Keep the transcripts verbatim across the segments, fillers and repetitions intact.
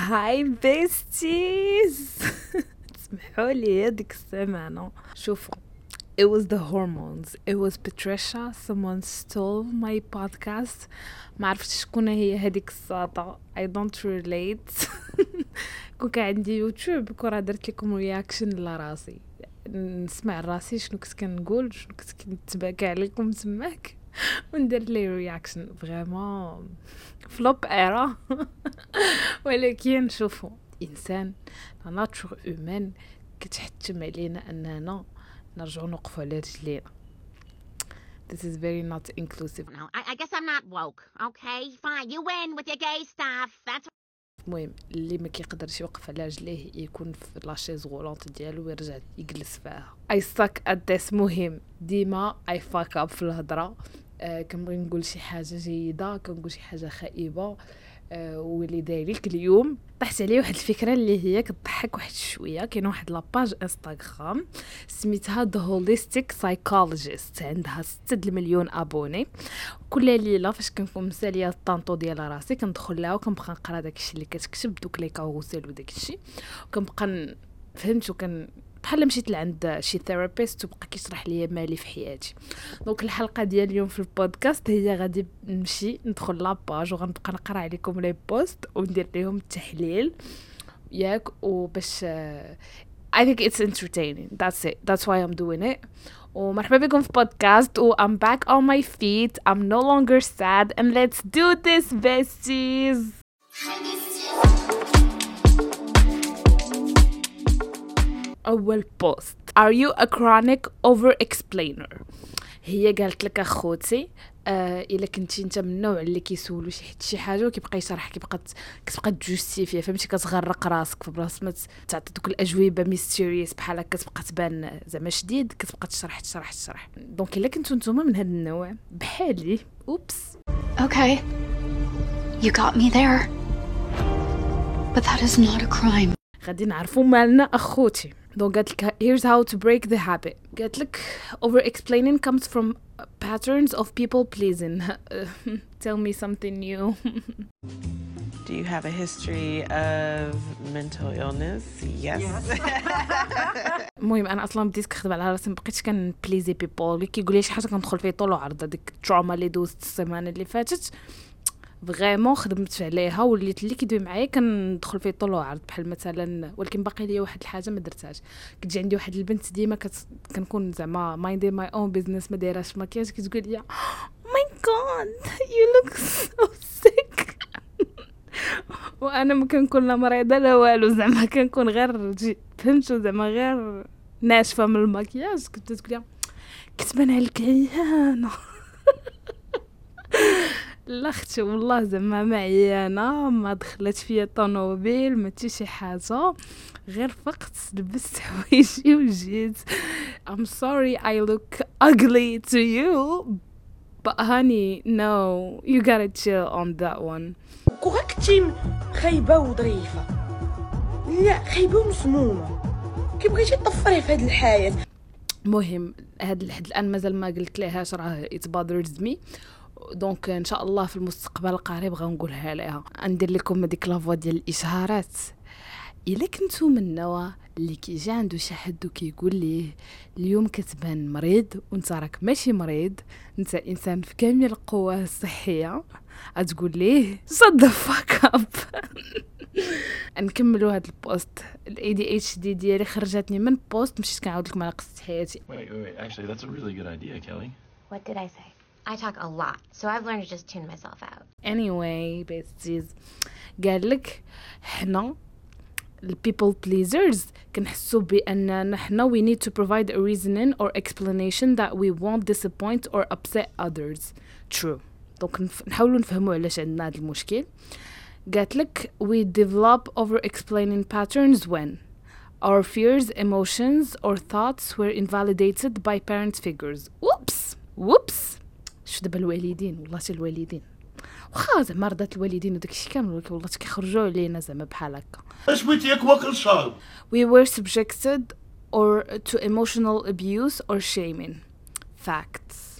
هاي بيستيز. تسمحوا لي هذيك السمانة شوفوا it was the hormones, it was Patricia, someone stole my podcast. ما عرفتش شكون هي هذيك الساطة. I don't relate. كون كان عندي يوتيوب كون درت لكم رياكشن لراسي نسمع راسي شنو كنت كنقول شنو كنت كنتباكى عليكم تماك وندير لي رياكشن فريمون فلوب ايرا. ولكن شوفوا انسان لا ناتور هيومان كتحتم علينا اننا نرجعوا نوقفوا على رجلينا. This is very not inclusive. No, I, I guess I'm not woke. Okay, fine. You win with your gay stuff. That's المهم اللي ما كيقدرش يوقف على رجليه يكون في لاشيز غولونط ديالو ويرجع يجلس فيها. I suck at this. مهم ديما I fuck up في الهضره. آه كنبغي نقول شي حاجه جيده كنقول شي حاجه خائبه. آه واللي دايرك اليوم طحت عليه واحد الفكره اللي هي كتضحك واحد شويه. كاين واحد لاباج انستغرام سميتها The Holistic Psychologist عندها ستة مليون ابوني. كل ليله فاش كنكون مساليه الطانطو ديال راسي كندخل لها وكنبقى نقرا داكشي اللي كتكتب دوك لي كاروسيل وداكشي وكنبقى فهمت وكن بحال مشيت لعند شي ثيرابيست وبقى كيشرح لي مالي في حياتي. دونك الحلقه ديال اليوم في البودكاست هي غادي نمشي ندخل لاباج وغنبقى نقرا عليكم لي بوست وندير لهم التحليل ياك وباش I think it's entertaining. That's it. That's why I'm doing it. ومرحبا بكم في بودكاست و I'm back on my feet. I'm no longer sad and let's do this besties. أول بوست. Are you a chronic over-explainer؟ هي قالت لك أخوتي آه إلا كنتي انت من النوع اللي كيسولو شي حد شي حاجه وكيبقى يشرح كيبقى كتبقى تجوستيفيا فهمتي كتغرق راسك في بلاصه ما تعطي دوك الاجوبه ميستيريوس بحال هكا كتبقى تبان زعما شديد كتبقى تشرح تشرح تشرح. دونك الا كنتو نتوما من هذا النوع بحالي اوبس Okay, you got me there, but that is not a crime. غادي نعرفوا مالنا اخوتي. دونك قالت لك here's how to break the habit. قالت لك over explaining comes from patterns of people pleasing. Tell me something new. Do you have a history of mental illness? Yes. المهم انا اصلا بديت كنخدم على راسي مبقيتش كان بليزي بيبول كيقول لي شي حاجه كندخل فيه طول وعرض. هذيك التروما اللي دوزت السيمانه اللي فاتت فريمون خدمت عليها وليت اللي كيدوي معايا كندخل فيه طول وعرض بحال مثلا. ولكن باقي لي واحد الحاجه ما درتهاش. كتجي عندي واحد البنت ديما كت... كنكون زعما مايندي ماي اون بيزنس ما دايراش مكياج كتقول لي ماي جاد يو لوك سو سيك. وانا ما كنكون لا مريضه لا والو زعما كنكون غير فهمتوا زعما غير ناشفه من المكياج. كنت تقول لي كتبان عليك عيانه. لا اختي والله زعما ما عيانه ما دخلت فيا طونوبيل ما حتى شي حاجه غير فقط لبست حوايجي وجيت. I'm sorry I look ugly to you but honey no you gotta chill on that one. كنتي خايبه وظريفه لا خايبه ومسمومه كيبغيتي تطفري في هذه الحياه. المهم هاد لحد الان مازال ما قلت ليهاش راه it bothers me. دونك ان شاء الله في المستقبل القريب غنقولها لها. ندير لكم هذيك لافوا ديال الاشهارات. الا كنتو من النوع اللي كيجي عنده شي حد وكيقول ليه اليوم كتبان مريض وانت راك ماشي مريض انت انسان في كامل القوه الصحيه غتقول ليه shut the fuck up. نكملوا هذا البوست. الاي دي اتش دي ديالي خرجتني من بوست مشيت كنعاود لكم على قصه حياتي. Wait, wait, wait. Actually, that's a really good idea, Kelly. what did I say? I talk a lot, so I've learned to just tune myself out. anyway besties قال لك حنا people pleasers كنحسوا بأن نحنا we need to provide a reasoning or explanation that we won't disappoint or upset others. true. دونك نحاولوا نفهموا علاش عندنا هذا المشكل. قالت لك we develop over explaining patterns when our fears, emotions or thoughts were invalidated by parent figures. whoops whoops شو دابا الوالدين والله حتى الوالدين واخا زعما رضات الوالدين وداكشي كامل ولكن والله كيخرجوا علينا زعما بحال هكا. اش بغيتي ياك واكل شرب. we were subjected or to emotional abuse or shaming. facts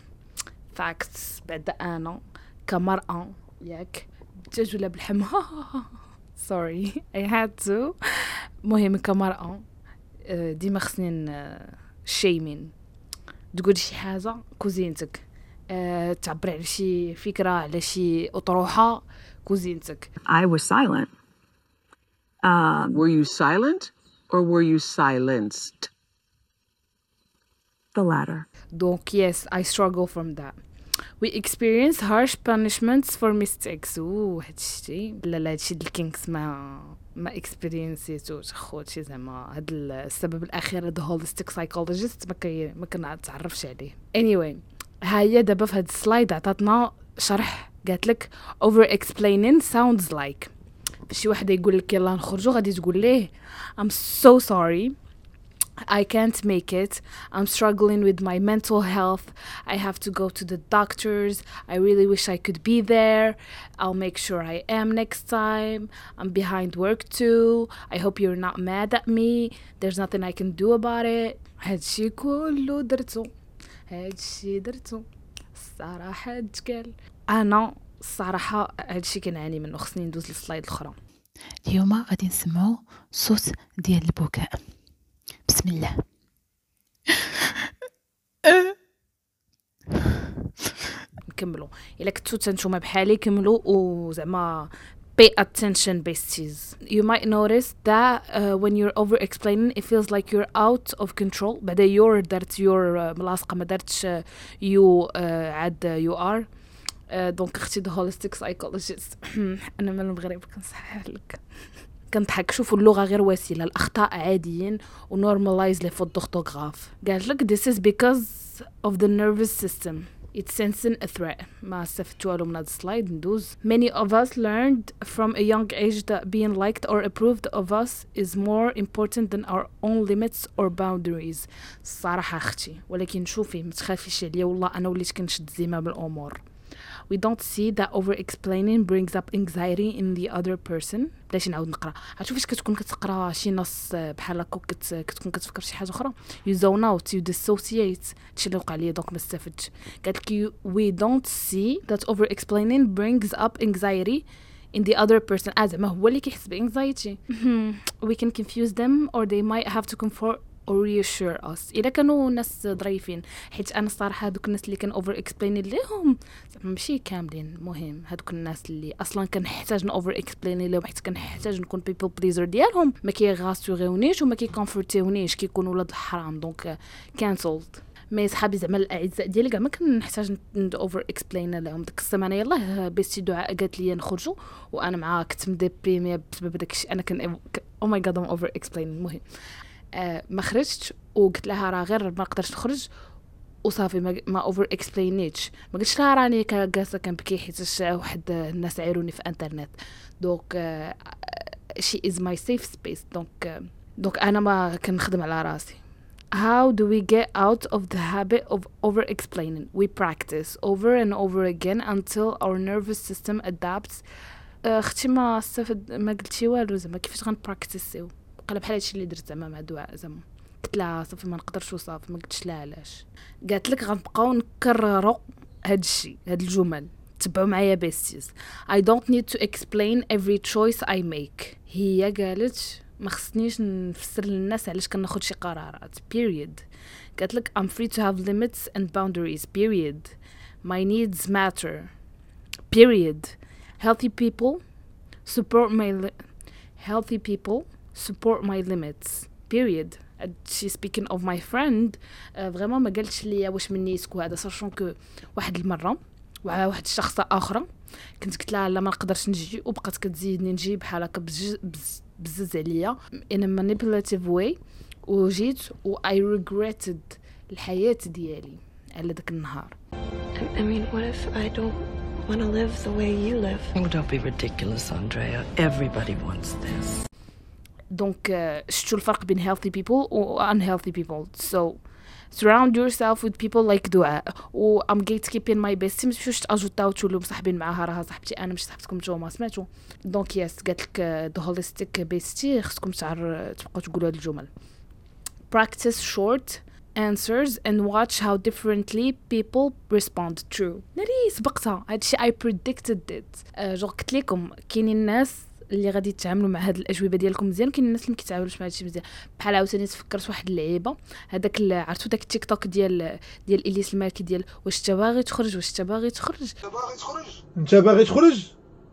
facts بعد انا كمرأة ياك الدجاج ولا بالحم sorry I had to. مهم كمرأة ديما خصني شيمين تقول شي حاجة كوزينتك، أه تعبر على شي فكرة على شي أطروحة كوزينتك. I was silent. Um, were you silent or were you silenced? The latter. Donc yes, I struggle from that. We experience harsh punishments for mistakes. اوه هادشي لا لا هادشي ديال الكينكس ما ما اكسبيرينسيتوش خوتي زعما هاد السبب الاخير هاد هوليستيك سايكولوجيست ما كي ما كنتعرفش عليه. anyway ها هي دابا في هاد السلايد عطاتنا شرح قالت لك over explaining sounds like شي واحد يقول لك يلا نخرجوا غادي تقول ليه I'm so sorry I can't make it. I'm struggling with my mental health. I have to go to the doctors. I really wish I could be there. I'll make sure I am next time. I'm behind work too. I hope you're not mad at me. There's nothing I can do about it. هادشي كله درتو هادشي درتو الصراحة تقال. أنا الصراحة هادشي كنعاني منه. خصني ندوز للسلايد الأخرى. اليوم غادي نسمعو صوت ديال البكاء. بسم الله. نكملوا الا كنتو تنتوما بحالي كملوا وزعما pay attention besties. You might notice that uh, when you're over explaining it feels like you're out of control. بعدا you're درت you're uh, ملاصقه ما درتش uh, you uh, عاد uh, you are دونك uh, اختي the holistic psychologist. انا من المغرب كنصحح لك كنضحك. شوفوا اللغه غير وسيله، الاخطاء عاديين ونورماليز لي فوت دورتوغراف. قالت لك this is because of the nervous system. It's sensing a threat. ما استفدتوا والو من هذا السلايد. ندوز. Many of us learned from a young age that being liked or approved of us is more important than our own limits or boundaries. الصراحه اختي ولكن شوفي ما تخافيش عليا والله انا وليت كنشد زمام الامور. We don't see that over-explaining brings up anxiety in the other person. بلاش نعاود نقرا. عرفتوا فاش كتكون كتقرا شي نص بحال هكا كت... كتكون كتفكر شي حاجه اخرى you zone out, you dissociate. هادشي اللي وقع لي دونك ما استفدتش. قالت لك we don't see that over-explaining brings up anxiety in the other person. آه زعما هو اللي كيحس بانكزايتي. we can confuse them or they might have to comfort or reassure us. إلا كانوا ناس ظريفين، حيت أنا الصراحة هادوك الناس اللي كان over explaining لهم زعما ماشي كاملين. مهم هادوك الناس اللي أصلا كنحتاج ن over explaining لهم حيت كنحتاج نكون people pleaser ديالهم ما كيغاسيوغيونيش وما كيكونفورتيونيش كيكونوا ولاد الحرام دونك cancelled. مي صحابي زعما الاعزاء ديالي كاع ما كنحتاج اوفر اكسبلين لهم. ديك السيمانه يلاه بيستي دعاء قالت لي نخرجوا وانا معاها كنت مدبريميه بسبب داكشي. انا كان او ماي جاد ام اوفر اكسبلين. المهم آه ما خرجتش وقلت لها راه غير ما نقدرش نخرج وصافي ما, ما اوفر اكسبلينيتش. ما قلتش لها راني جالسه كنبكي حيت واحد الناس عيروني في انترنت. دونك شي از ماي سيف سبيس. دونك دونك انا ما كنخدم على راسي. How do we get out of the habit of over-explaining? We practice over and over again until our nervous system adapts. اختي ما استفد ما قلتي والو زعما كيفاش غنبراكتيسيو. قال بحال هادشي اللي درت زعما مع دعاء زعما قلت لها صافي ما نقدرش وصافي. ما قلتش لها علاش. قالت لك غنبقاو نكرروا هادشي هاد الجمل. تبعوا معايا بيستيز. I don't need to explain every choice I make. هي قالت ما خصنيش نفسر للناس علاش كناخذ شي قرارات. period. قالت لك I'm free to have limits and boundaries. period. My needs matter. period. healthy people support my li- healthy people support my limits. period. she speaking of my friend فريمون ما قالتش لي واش مني يسكو هذا ساشون كو واحد المره وعلى واحد الشخصه اخرى كنت قلت لها لا ما نقدرش نجي وبقات كتزيدني نجي بحال هكا بزز عليا in a manipulative way وجيت و I regretted الحياة ديالي على داك النهار. I mean what if I don't want to live the way you live? Oh, don't be ridiculous, Andrea. Everybody wants this. دونك شفتوا الفرق بين healthy people و unhealthy people. so surround yourself with people like دعاء و I'm gatekeeping my bestie. ما تمشوش تاجوتاو تولوا مصاحبين معاها راها صاحبتي انا مش صاحبتكم نتوما سمعتوا. دونك يس قالت لك the holistic bestie خصكم تعر تبقاو تقولوا هاد الجمل. practice short answers and watch how differently people respond. true. ناري سبقتها هادشي I predicted it. جو قلت لكم كاينين الناس اللي غادي تتعاملوا مع هاد الاجوبه ديالكم مزيان، كاين الناس اللي ما كيتعاملوش مع هادشي مزيان. بحال عاوتاني تفكرت واحد اللعيبه، هذاك عرفتوا داك التيك توك ديال ديال الياس المالكي ديال واش انت باغي تخرج واش انت باغي تخرج باغي تخرج انت باغي تخرج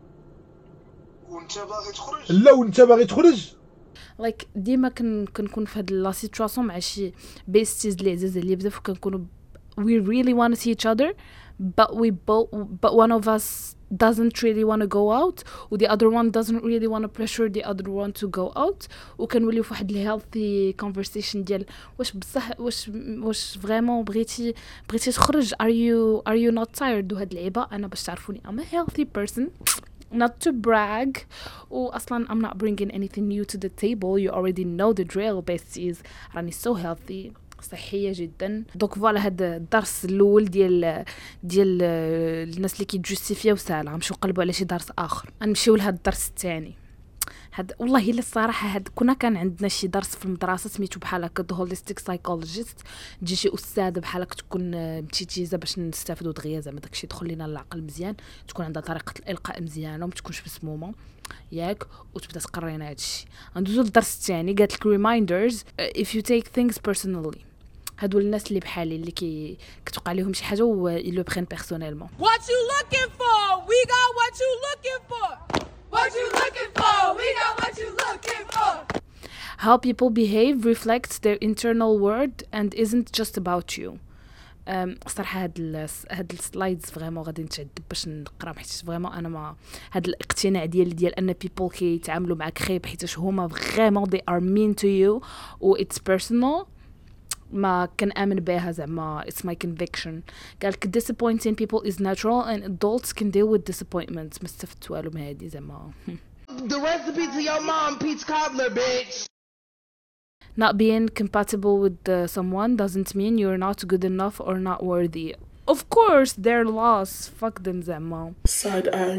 وانت باغي تخرج لا وانت باغي تخرج. لايك like, ديما كن كنكون في هاد لا سيتواسيون مع شي بيستيز اللي عزاز عليا بزاف، وكنكونوا we really want to see each other but we both but one of us doesn't really want to go out و the other one doesn't really want to pressure the other one to go out، وكنوليو في واحد الهيلثي conversation ديال واش بصح واش واش فريمون بغيتي بغيتي تخرج are you are you not tired. وهاد اللعيبه انا باش تعرفوني I'm a healthy person not to brag واصلا I'm not bringing anything new to the table, you already know the drill besties. راني so healthy صحيه جدا. دونك فوالا هذا الدرس الاول ديال ديال الناس اللي كيجوستيفياو سالا غنمشيو نقلبوا على شي درس اخر، غنمشيو لهذا الدرس الثاني. هاد والله الا الصراحه هاد كنا كان عندنا شي درس في المدرسه سميتو بحال هكا ذا هوليستيك سايكولوجيست، تجي شي استاذه بحال هكا تكون متيتيزه باش نستافدوا دغيا زعما داكشي يدخل لينا للعقل مزيان، تكون عندها طريقه الالقاء مزيانه وما تكونش مسمومه ياك، وتبدا تقرينا هادشي. غندوزو للدرس الثاني قالت لك reminders if you take things personally. هادو الناس اللي بحالي اللي كي كتوقع لهم شي حاجه و يلو برين بيرسونيلمون. What you looking for? We got what you looking for. What you looking for? We got what you looking for. How people behave reflects their internal world and isn't just about you. أم صراحه هاد ال هاد السلايدز فريمون غادي نتعذب باش نقرا حيت فريمون انا ما هاد الاقتناع ديالي ديال ان بيبل كيتعاملوا معاك خايب حيت هما فريمون they are mean to you و it's personal ما كنآمن بها زعما it's my conviction. قالك disappointing people is natural and adults can deal with disappointment. ما استفدت والو من هادي زعما. The recipe to your mom peach cobbler bitch. Not being compatible with uh, someone doesn't mean you're not good enough or not worthy. Of course they're lost. Fuck them زعما. Side eye.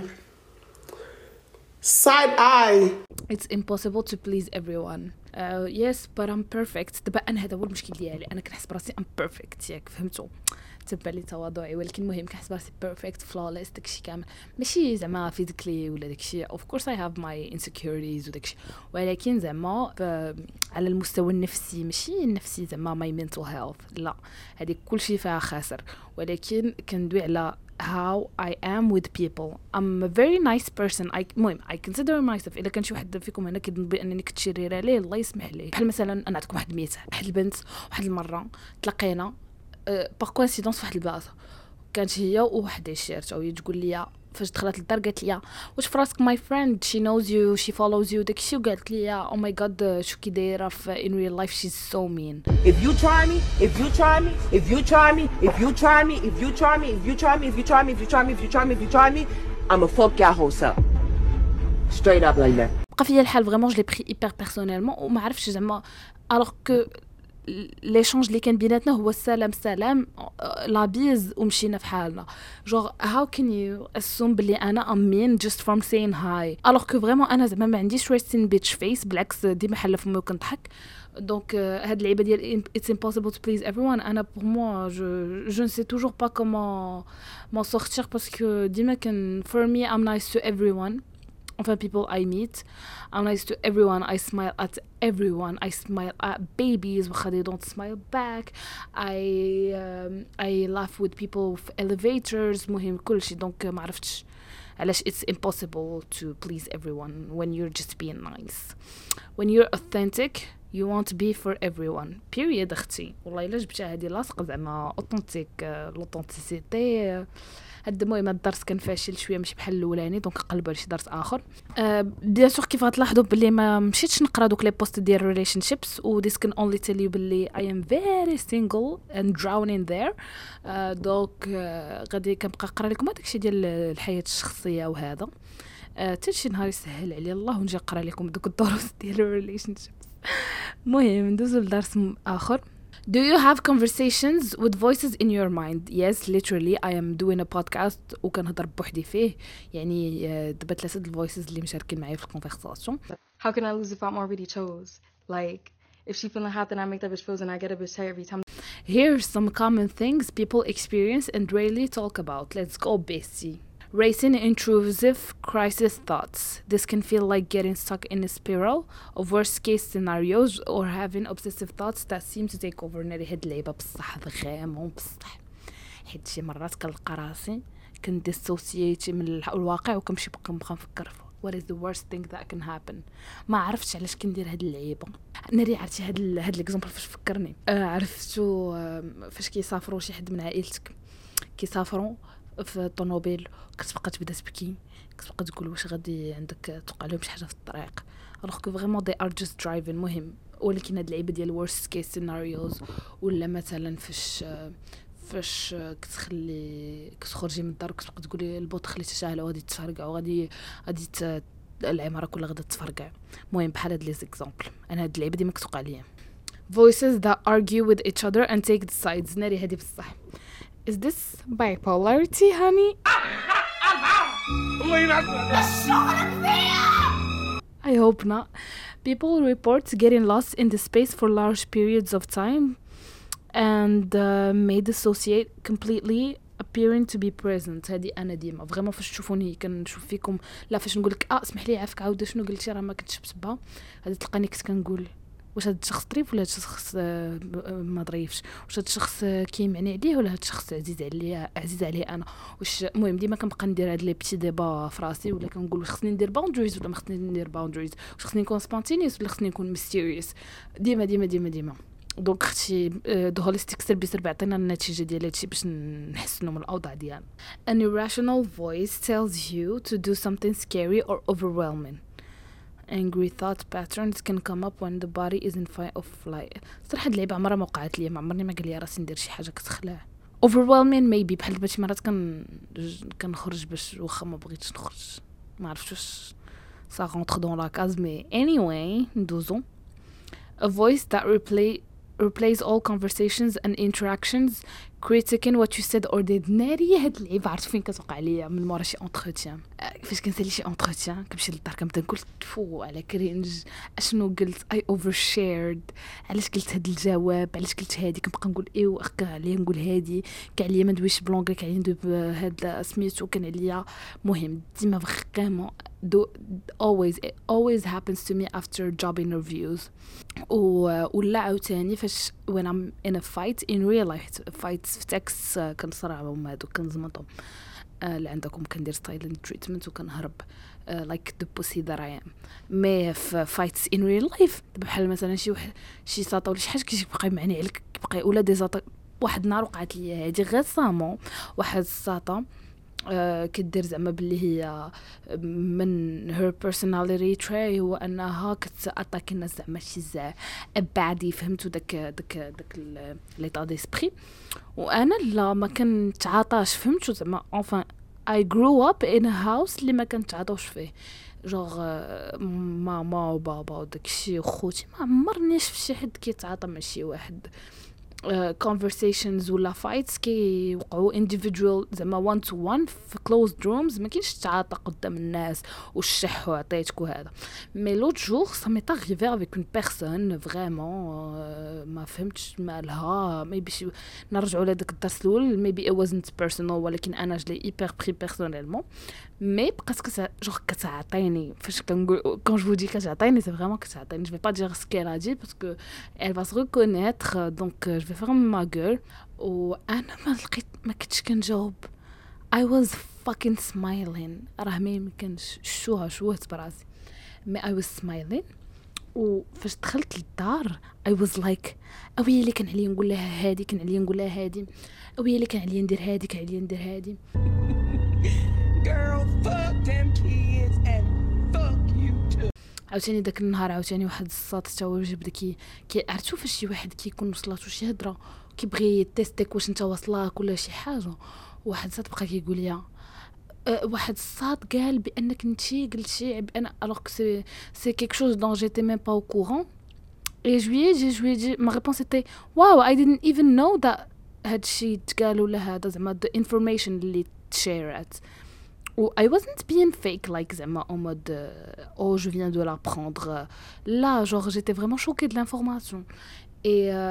Side eye. It's impossible to please everyone. Uh, yes but I'm perfect. دابا انا هذا هو المشكل ديالي، انا كنحس براسي I'm perfect ياك فهمتوا، تبع لي تواضعي، ولكن المهم كنحس براسي perfect flawless داكشي كامل ماشي زعما physically ولا داكشي. of course I have my insecurities وداكشي، ولكن زعما على المستوى النفسي ماشي النفسي زعما my mental health لا، هذيك كلشي فيها خاسر، ولكن كندوي على how I am with people. I'm a very nice person. I المهم I consider myself. إلا كان شي واحد فيكم هنا كيظن بأنني كتشرير عليه الله يسمح ليه. بحال مثلا أنا نعطيكم واحد المثال، واحد البنت واحد المرة تلاقينا باغ كوانسيدونس فواحد البلاصة، كانت هي وواحد عشيرتها وهي تقول لي فاش دخلت للدار قالت لي واش فراسك my friend she knows you she follows you داكشي، وقالت لي oh my god شو كي دايره في in real life she's so mean. If you try me if you try me if you try me if you try me if you try me if you try me if you try me if you try me if you try me if you try me I'm a fuck your whole self straight up like that. بقى فيا الحال فريمون جو لي بري hyper personnellement وما عرفتش زعما alors que ليشونج اللي كان بيناتنا هو السلام سلام لابيز ومشينا في حالنا. جور هاو كان يو اسوم بلي انا امين جست فروم سين هاي الوغ كو فريمون انا زعما ما عنديش ريستين بيتش فيس، بالعكس ديما حله فمي وكنضحك. دونك هاد اللعيبه ديال it's impossible to please everyone انا pour moi je je ne sais toujours pas comment m'en sortir parce que ديما كان for me I'm nice to everyone. Enfin, people I meet, I'm nice to everyone. I smile at everyone. I smile at babies. They don't smile back. I um, I laugh with people في elevators. مهم كل شيء. Donc ما عرفتش علاش it's impossible to please everyone when you're just being nice. When you're authentic, you want to be for everyone. Period. أختي. والله إلا جبتها هذه لاصقة زعما authentic l'authenticité. هاد المهم الدرس كان فاشل شويه ماشي بحال الاولاني، دونك قلبوا على شي درس اخر. أه بيان سور كيف غتلاحظوا بلي ما مشيتش نقرا دوك لي بوست ديال ريليشن شيبس و this can only tell you بلي I am very single and drowning there. أه دونك أه غادي كنبقى نقرا لكم هذاك الشيء ديال الحياه الشخصيه وهذا حتى أه شي نهار يسهل عليا الله ونجي نقرا لكم دوك الدروس ديال الريليشن شيبس. المهم ندوزو لدرس اخر. Do you have conversations with voices in your mind? Yes, literally I am doing a podcast وكنهضر بوحدي فيه، يعني دابا ثلاثه د الفويسز اللي مشاركين معايا في الكونفرساسيون. How can I lose if I'm already chose? Like if she feeling hot then I make that bitch froze and I get a bitch tired every time. Here's some common things people experience and rarely talk about. Let's go, bestie. racing intrusive crisis thoughts. This can feel like getting stuck in a spiral of worst case scenarios or having obsessive thoughts that seem to take over. ناري هاد اللعبة بصح غامون بصح حيت شي مرات كنلقى راسي كنديسوسييتي من الواقع وكنمشي بقى نبقى نفكر what is the worst thing that can happen. ما عرفتش علاش كندير هاد اللعيبه. ناري عرفتي هاد ال... هاد الاكزامبل فاش فكرني آه عرفتو آه فاش كيسافروا شي حد من عائلتك كيسافروا في الطوموبيل كتبقى تبدا تبكي كتبقى تقول واش غادي عندك توقع لهم شي حاجه في الطريق alors que vraiment they are just driving مهم. ولكن هاد اللعيبه ديال worst case scenarios ولا مثلا فاش فاش كتخلي كتخرجي من الدار كتبقى تقولي البوط خليته شاعله وغادي تفرقع وغادي غادي العماره كلها غادا تفرقع. المهم بحال هاد لي زيكزامبل انا هاد اللعيبه ديما كتوقع ليا. voices that argue with each other and take the sides. ناري هادي بصح is this bipolarity honey? I hope not. People report getting lost in the space for large periods of time and uh, may dissociate completely appearing to be present. هذه انا ديما فريمون فاش تشوفوني كنشوف فيكم لا فاش نقول لك اه اسمح لي عافاك عاود شنو قلتي راه ما كنتش بتبا غادي تلقاني كنت كنقول واش هذا الشخص ظريف ولا هذا الشخص ما ظريفش واش هذا الشخص كيمعني عليه ولا هذا الشخص عزيز عليا عزيز عليه انا واش المهم ديما كنبقى ندير هاد لي بيتي ديبا في راسي ولا كنقول واش خصني ندير باوندريز ولا ما خصني ندير باوندريز واش خصني نكون سبونتينيوس ولا خصني نكون ميستيريوس ديما ديما ديما ديما دونك اختي دو هوليستيك سيرفيس بيعطينا النتيجه ديال هادشي باش نحسنوا من الاوضاع ديالنا. An irrational voice tells you to do something scary or overwhelming. Angry thought patterns can come up when the body is in fight or flight. صراحه اللعبه عمرها ما وقعت لي ما عمرني ما قال لي راسي ندير شي حاجه كتخلع. overwhelming maybe بحال دابا شي مرات كن كنخرج باش واخا ما بغيتش نخرج ما عرفتش واش ça rentre dans la case mais anyway ندوزو. A voice that replay replays all conversations and interactions critiquing what you said or did. ناري هاد اللعيبه عرفت فين كتوقع ليا من مورا شي اونتروتيان فاش كنسالي شي اونتروتيان كنمشي للدار كنبدا نقول فو على كرينج اشنو قلت اي اوفر شيرد علاش قلت هاد الجواب علاش قلت هادي كنبقى نقول ايوا كاع عليا نقول هادي كاع عليا ما ندويش بلونغلي كاع عليا ندوي بهاد سميتو كان عليا مهم ديما فريمون do always it always happens to me after job interviews و ولا عاوتاني فاش when I'm in a fight in real life fights في تكست كنصرعهم هادو كنزمطهم اللي عندكم كندير silent treatment وكنهرب like the pussy that I am. مي في fights in real life بحال مثلا شي واحد شي ساطه ولا شي حاجه كيبقى يمعني عليك كيبقى ولا دي زاط واحد النهار وقعت لي هادي غير سامون واحد الساطه Uh, كدير زعما باللي هي من her personality trait هو انها كتاتاكي الناس زعما شي زع ابعدي فهمتوا داك داك داك ليطا ديسبري وانا لا ما كنتعاطاش فهمتوا زعما enfin I grew up in a house اللي ما كنتعاطاوش فيه جوغ ماما وبابا وداكشي وخوتي ما عمرني شفت شي حد كيتعاطى مع شي واحد. Uh, conversations ولا fights كي وقعوا individual زعما one to one في closed rooms ما كاينش تعاطى قدام الناس والشح وعطيتك وهذا مي لوت جور ça m'est arrivé avec une personne vraiment uh, ما فهمتش مالها maybe نرجعوا لهذاك الدرس الاول maybe it wasn't personal ولكن انا جلي hyper pris personnellement مي بقات كت جوغ كتعطيني فاش كنقول كون جو دي كتعطيني سي فريمون كتعطيني جو في با دير سكيل ا دي باسكو elle va se reconnaître donc je vais faire ma gueule وانا ما لقيت ما كنتش كنجاوب I was fucking smiling راه ما يمكنش شوها شوهت براسي مي I was smiling وفاش دخلت للدار I was like اويلي اللي كان عليا نقول لها هادي كان عليا نقول لها هادي اويلي اللي كان عليا ندير هادي كان عليا ندير هادي girl fuck them kids and fuck you too. عاوتاني داك النهار عاوتاني واحد الساط تا هو بدا كي عرفتوا فاش شي واحد كيكون وصلاتو شي هضره كيبغي يتيستيك واش انت واصلاك ولا شي حاجه واحد الساط بقى كيقول لي أه واحد الساط قال بانك انتي قلتي بان alors que c'est c'est quelque chose dont j'étais même pas au courant et je lui ai dit je lui ai dit ma réponse était wow I didn't even know that هادشي تقال ولا هذا زعما the information اللي تشيرات و I wasn't being fake like زعما en mode euh, oh je viens de l'apprendre là genre j'étais vraiment choquée de l'information et euh,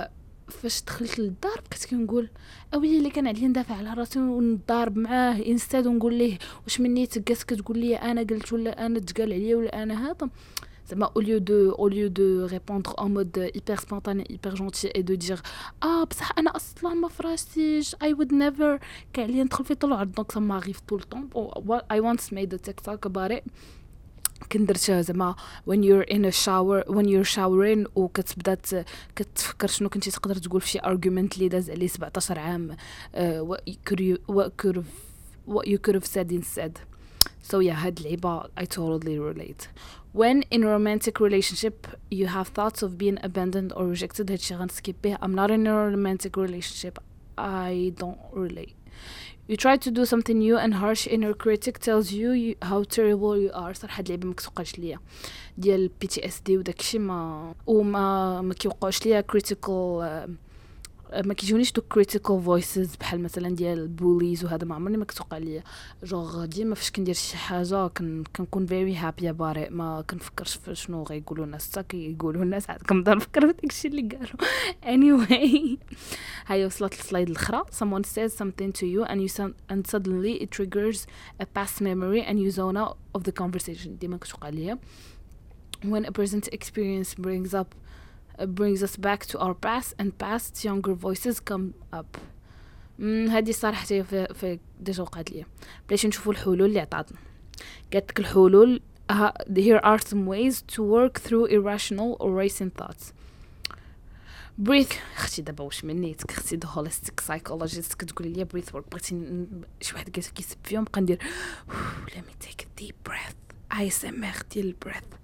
فاش دخلت للدار بقيت كنقول اويلي اللي كان عليا ندافع على راسي ونضارب معاه انستاد ونقول ليه واش مني تقاس كتقول لي انا قلت ولا انا تقال عليا ولا انا هذا زعما au lieu de au lieu de répondre en mode hyper spontané hyper gentil et de dire ah بصح انا اصلا ما فراشتيش I would never كان عليا ندخل في طول عرض دونك ça m'arrive tout le temps oh, I once made a TikTok about it كنت درتها زعما when you're in a shower when you're showering وكتبدا كتفكر شنو كنتي تقدر تقول في شي argument اللي داز عليه سبعطاش عام uh, what you could you, what could have what you could have said instead so yeah هاد العيبة I totally relate when in a romantic relationship you have thoughts of being abandoned or rejected هادشي غنسكيب به I'm not in a romantic relationship I don't relate you try to do something new and harsh inner critic tells you, you how terrible you are صراحه هاد اللعبه ما كتوقعش ليا ديال بي تي اس دي وداكشي ما وما ما كيوقعوش ليا critical ما كيجونيش دو critical voices بحال مثلا ديال بوليز وهذا ما عمرني ما كتوقع ليا جوغ ديما فاش كندير شي حاجه كن كنكون very happy about it ما كنفكرش في شنو غيقولوا الناس حتى كيقولوا الناس عاد كنبدا نفكر في داكشي اللي قالوا anyway هاي وصلت السلايد الاخرى someone says something to you and you and suddenly it triggers a past memory and you zone out of the conversation ديما كتوقع ليا when a present experience brings up uh, brings us back to our past and past younger voices come up هذه صراحه في في ديجا وقعت ليا بلاش نشوفوا الحلول اللي عطاتنا قالت لك الحلول uh, here are some ways to work through irrational or racing thoughts breathe اختي دابا واش منيتك اختي the holistic psychologist كتقول لي breathe work بغيتي شي واحد قالت كيسب فيهم بقى ندير let me take a deep breath I S M R ديال breath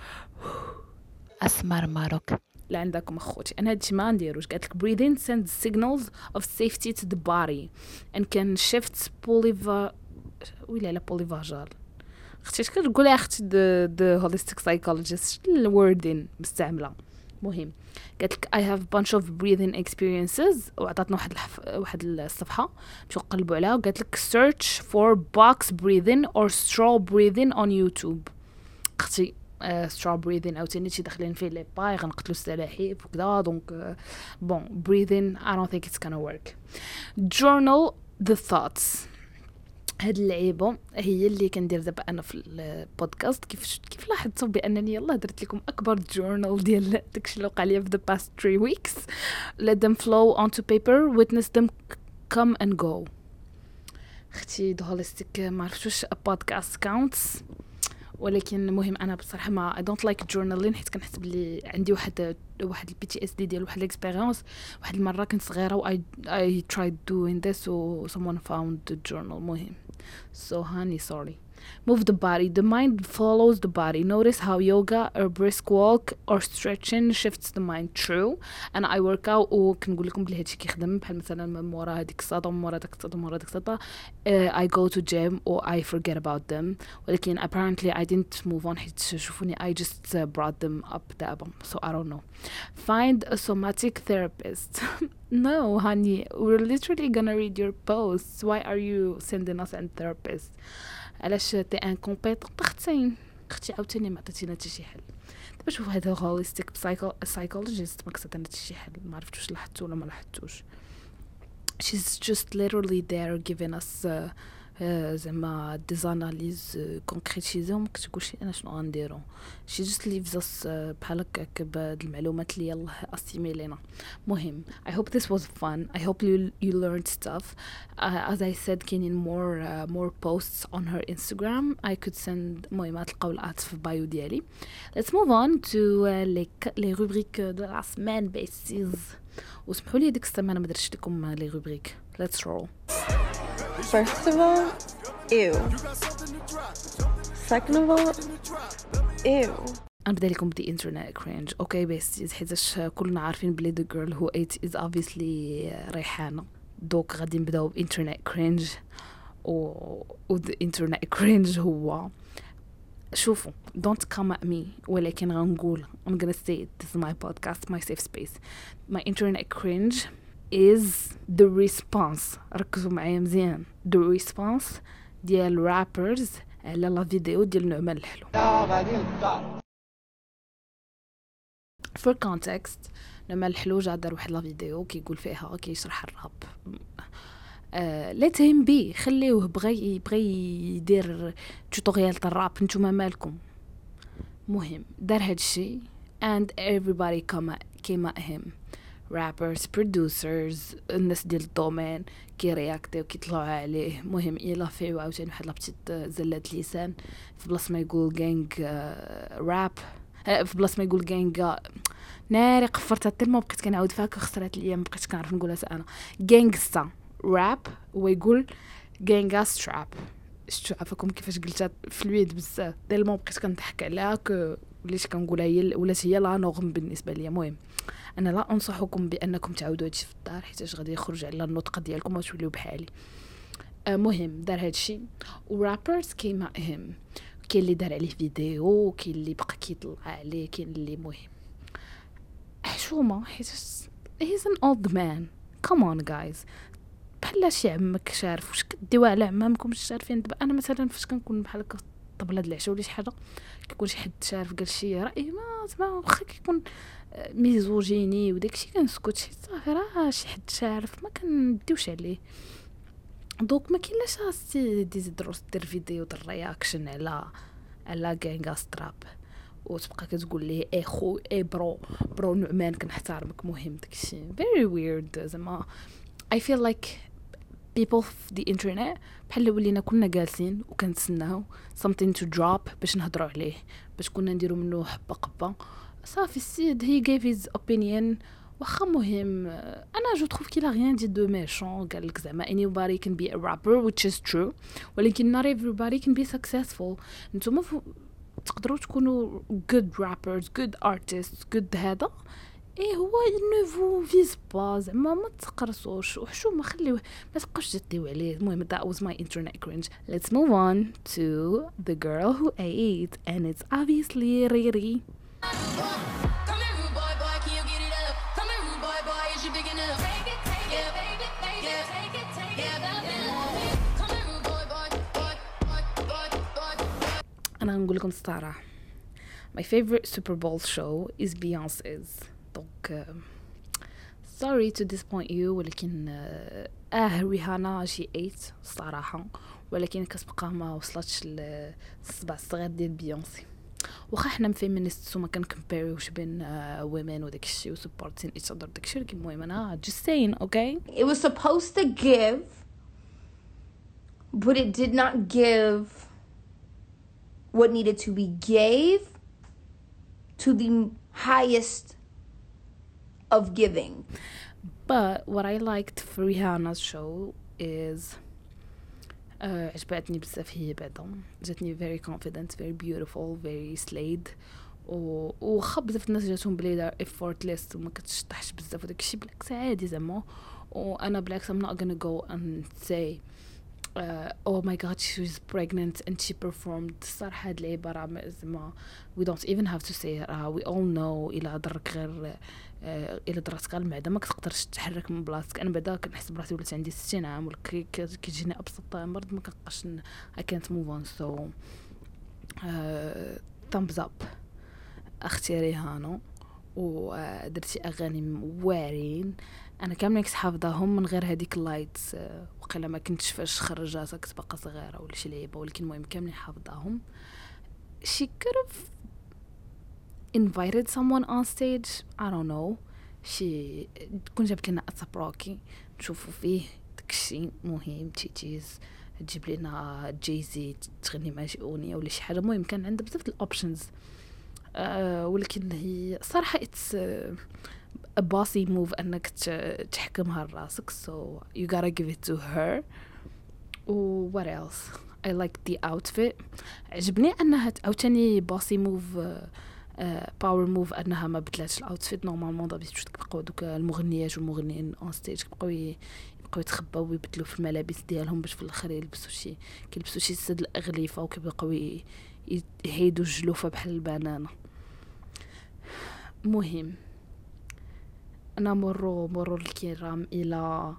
اسمر ماروك لا عندكم اخوتي انا هادشي ما نديروش قالت لك breathing sends signals of safety to the body and can shift polyva ولا لا polyvagal اختي اش كتقول يا اختي the, the holistic psychologist الوردين مستعمله مهم قالت لك I have a bunch of breathing experiences وعطاتنا واحد الحف... واحد الصفحه باش نقلبوا عليها وقالت لك search for box breathing or straw breathing on YouTube اختي Uh, straw breathing او تاني شي داخلين فيه لي باي غنقتلوا السلاحف وكذا دونك بون uh, breathing I don't think it's gonna work journal the thoughts هاد اللعيبه هي اللي كندير دابا انا في البودكاست كيف كيف لاحظتوا بانني يلاه درت لكم اكبر جورنال ديال داكشي اللي وقع لي في the past three weeks let them flow onto paper witness them come and go اختي the holistic ما عرفتوش a podcast counts ولكن المهم انا بصراحه ما I don't like journaling حيت كنحس بلي عندي واحد واحد البي تي اس دي ديال واحد الاكسبيريونس واحد المره كنت صغيره و I, I tried doing this و someone found the journal مهم so honey sorry move the body the mind follows the body notice how yoga or brisk walk or stretching shifts the mind true and I work out وكنقول لكم بلي هادشي كيخدم بحال مثلا مورا هذيك الصدمه مورا داك الصدمه مورا داك الصدمه uh, I go to gym or I forget about them ولكن apparently I didn't move on حيت شوفوني I just uh, brought them up دابا so I don't know find a somatic therapist no honey we're literally gonna read your posts why are you sending us a therapist علاش تي انكومبيتون اختين اختي عاوتاني ما عطيتينا حتى شي حل دابا شوف هذا هوليستيك سايكولوجيست ما كساتنا حتى شي حل ما عرفتوش لاحظتو ولا ما لاحظتوش she's just literally there giving us uh, uh, زعما des analyses concrétisées وما كتقولش انا شنو غنديرو she just leaves us uh, بحال هكاك بهاد المعلومات اللي يلاه اسيميلينا مهم I hope this was fun I hope you you learned stuff uh, as I said كاينين more uh, more posts on her Instagram I could send مهمات تلقاو الات في البايو ديالي let's move on to uh, les les rubriques de la semaine besties وسمحوا لي ديك السيمانه ما درتش لكم لي روبريك let's roll First of all, ew. Second of all, ew. نبدا لكم بدي انترنت كرينج اوكي بس حيتاش كلنا عارفين بلي the girl who ate is obviously ريحانه دوك غادي نبداو بانترنت كرينج و و the internet cringe هو شوفوا don't come at me ولكن غنقول I'm gonna say it this is my podcast my safe space my internet cringe is the response ركزوا معايا مزيان the response ديال rappers على لا فيديو ديال نعمان الحلو for context لما الحلوجه دار واحد لا فيديو كيقول فيها كيشرح الراب. ليت هيم بي، خليوه بغى بغى يدير توتوريال تاع الراب، نتوما مالكم. مهم دار هادشي and everybody came came at him. rappers, producers, الناس ديال الدومين كي رياكتيو كيطلعوا عليه. مهم الا فيو عاوتاني واحد لابتيت زلات لسان في بلاصه ما يقول غانغ راب، في بلاصه ما يقول غانغ ناري قفرتها حتى ما بقيت كنعاود فيها خسرات ليا، ما بقيتش كنعرف نقولها انا. غانغستا راب ويقول غانغاس راب. شفتوا عفاكم كيفاش قلتها فلويد بزاف تالمون بقيت كنضحك عليها ك وليت كنقولها هي ولات هي لا نورم بالنسبه ليا. المهم انا لا انصحكم بانكم تعاودوا هادشي في الدار حيت غادي يخرج على النطق ديالكم وتوليو بحالي. مهم دار هادشي ورابرز كيما هم، كاين اللي دار عليه فيديو، كاين اللي بقى كيطلع عليه، كاين اللي مهم حشومه حيت هيز ان اولد مان. كومون جايز، بحال شي عمك شارف واش كديوها على عمامكم شارفين. دابا انا مثلا فاش كنكون بحال هكا طبله د العشاء ولا شي حاجه كيكون شي حد شارف قال شي راي ما زعما واخا كيكون ميزوجيني وداكشي كنسكت حيت صافي راه شي حد شارف ما كنديوش عليه. دونك ما كاين لاش خاصتي ديزيدروس دير فيديو ديال الرياكشن على على غانغا ستراب وتبقى كتقول ليه اي خو اي برو برو نعمان كنحترمك. مهم داكشي very weird. زعما I feel like people في the internet بحال ولينا كنا جالسين وكنتسناو something to drop باش نهضروا عليه، باش كنا نديروا منه حبه قبه صافي. السيد he gave his opinion واخا. مهم انا جو trouve qu'il a rien dit de méchant. قال لك زعما anybody can be a rapper which is true، ولكن not everybody can be successful. نتوما تقدروا تكونوا good rappers good artists good هذا ايه هو ne vous vise pas. زعما ما تقرصوش وحشومه خليوه ما تبقاوش تديو عليه. المهم that was my internet cringe. Let's move on to the girl who ate and it's obviously Riri. أنا نقول لكم الصراحة my favorite Super Bowl show is Beyonce's. دونك sorry to disappoint you ولكن اه ريهانا شي ايت الصراحة، ولكن كتبقى ما وصلتش للصبع الصغير ديال بيونسي. واخا حنا فيمينيست وما كنكمبيريوش بين women وداك الشيء و supporting each other داك الشيء، ولكن المهم انا just saying okay. It was supposed to give but it did not give what needed to be gave to the highest of giving. But what I liked for Rihanna's show is uh, عجبتني بزاف. هي بعدا جاتني very confident very beautiful very slayed و وخا بزاف الناس جاتهم بلي دار effortless وما كتشطحش بزاف وداك الشيء بالعكس عادي زعما. وانا بالعكس I'm not gonna go and say uh, oh my god she was pregnant and she performed. الصراحه هاد العباره زعما we don't even have to say it. uh, we all know الا ضرك غير الا دراتك المعده ما كتقدرش تتحرك من بلاصتك. انا بعدا كنحس براسي ولات عندي ستين عام ولا كيجيني ابسط مرض ما كنبقاش I can't move on. so uh, thumbs up اختي ريهانو ودرتي اغاني واعرين. انا كاملين حافظاهم من غير هذيك اللايتس وقيلا ما كنتش فاش خرجاتها كنت باقا صغيره ولا شي لعيبه، ولكن المهم كاملين حافظاهم. she could have invited someone on stage I don't know. شي تكون جابت لنا اتابروكي نشوفوا فيه داكشي. مهم تيتيز تجيب لنا جيزي تغني مع شي اغنيه ولا شي حاجه. المهم كان عندها بزاف الاوبشنز أه ولكن هي صراحه اتس a bossy move انك تحكمها لراسك. so you gotta give it to her. و what else I like the outfit. عجبني انها عاوتاني bossy move باور موف انها ما بدلاتش الاوتفيت. نورمالمون دابيتود كيبقاو دوك المغنيات والمغنيين اون ستيج كيبقاو يبقاو يتخباو ويبدلوا في الملابس ديالهم باش في الاخر يلبسوا شي كيلبسوا شي سد الاغليفه وكيبقاو يهيدوا الجلوفه بحال البنانه. مهم انا مروا مروا الكرام الى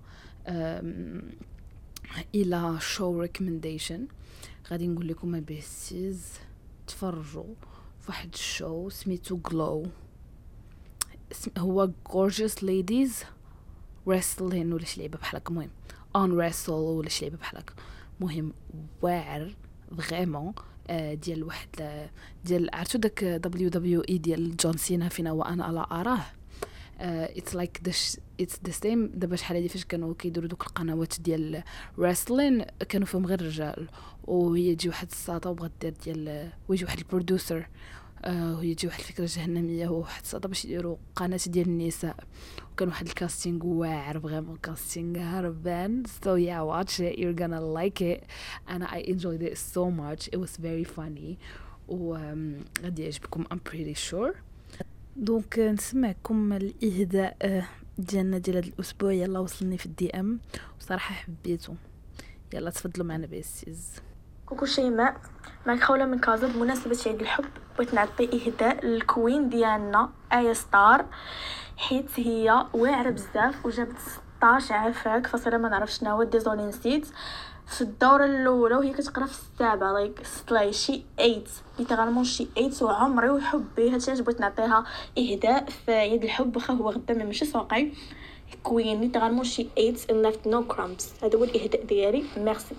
الى شو ريكومنديشن. غادي نقول لكم بيسيز تفرجوا واحد الشو سميتو غلو. هو gorgeous ladies wrestling ولا شي لعبه بحال هكا. المهم on wrestle ولا شي لعبه بحال هكا. مهم واعر فريمون ديال واحد ديال عرفتو داك دبليو دبليو اي ديال جون سينا فينا وانا لا اراه. اتس لايك ذس اتس ذا سيم. دابا شحال هادي فاش كانوا كيديروا دوك القنوات ديال wrestling كانوا فيهم غير الرجال، وهي تجي واحد الساطه وبغات دير ديال ويجي واحد البرودوسر آه وهي تجي واحد الفكره جهنميه وواحد الساطه باش يديروا قناه ديال النساء، وكان واحد الكاستينغ واعر فريمون كاستينغ هربان. so yeah watch it, you're gonna like it and I enjoyed it so much. It was very funny و غادي يعجبكم I'm pretty sure. دونك نسمعكم الاهداء ديالنا ديال هذا الاسبوع. يلا وصلني في الدي ام وصراحه حبيته. يلا تفضلوا معنا بيسيز. كوكو شيماء، معك خولة من كازا. بمناسبة عيد الحب بغيت نعطي إهداء للكوين ديالنا آية ستار، حيت هي واعرة بزاف وجابت ستاش عافاك فصيلة ما نعرف شنو هو ديزولي نسيت في الدورة الأولى وهي كتقرا في السابعة لايك سلاي شي ايت ليترالمون شي ايت وعمري وحبي. هادشي علاش بغيت نعطيها إهداء في عيد الحب واخا هو غدا ماشي سواقي. كوين ليترالمون شي ايت and left no crumbs. هذا هو الإهداء ديالي. ميرسي.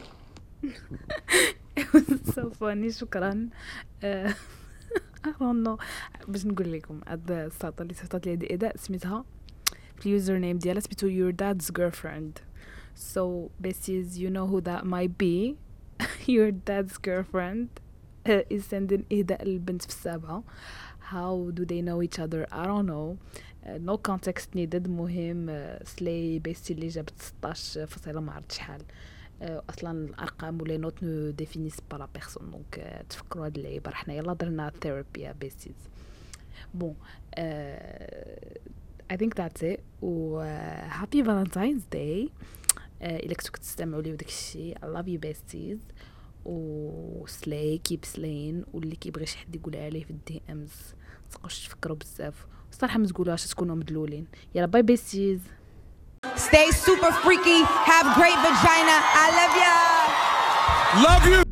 صافوني شكرا. I don't know باش نقول لكم هاد الساطه اللي صيفطت لي هاد الاداء سميتها في اليوزر نيم ديالها سميتو your dad's girlfriend. so besties you know who that might be. your dad's girlfriend uh, is sending إهداء للبنت في السابعة. how do they know each other I don't know. uh, no context needed. مهم uh, سلي بيستي اللي جابت ستاش فصيلة ما عرفت شحال. اصلا الارقام ولا نوت نو ديفينيس با لا بيرسون. دونك تفكروا هاد اللعيبه. رحنا يلا درنا ثيرابي يا بيسيز. بون اي ثينك ذاتس ات و هابي فالنتاينز داي الا كنتو كتستمعوا لي وداك الشيء. I love you besties و سلاي كيب سلاين. واللي كيبغي شي حد يقولها عليه في الدي امز تبقاوش تفكروا بزاف الصراحه ما تقولوهاش تكونوا مدلولين. يلا باي بيسيز. Stay super freaky. Have great vagina. I love ya. Love you.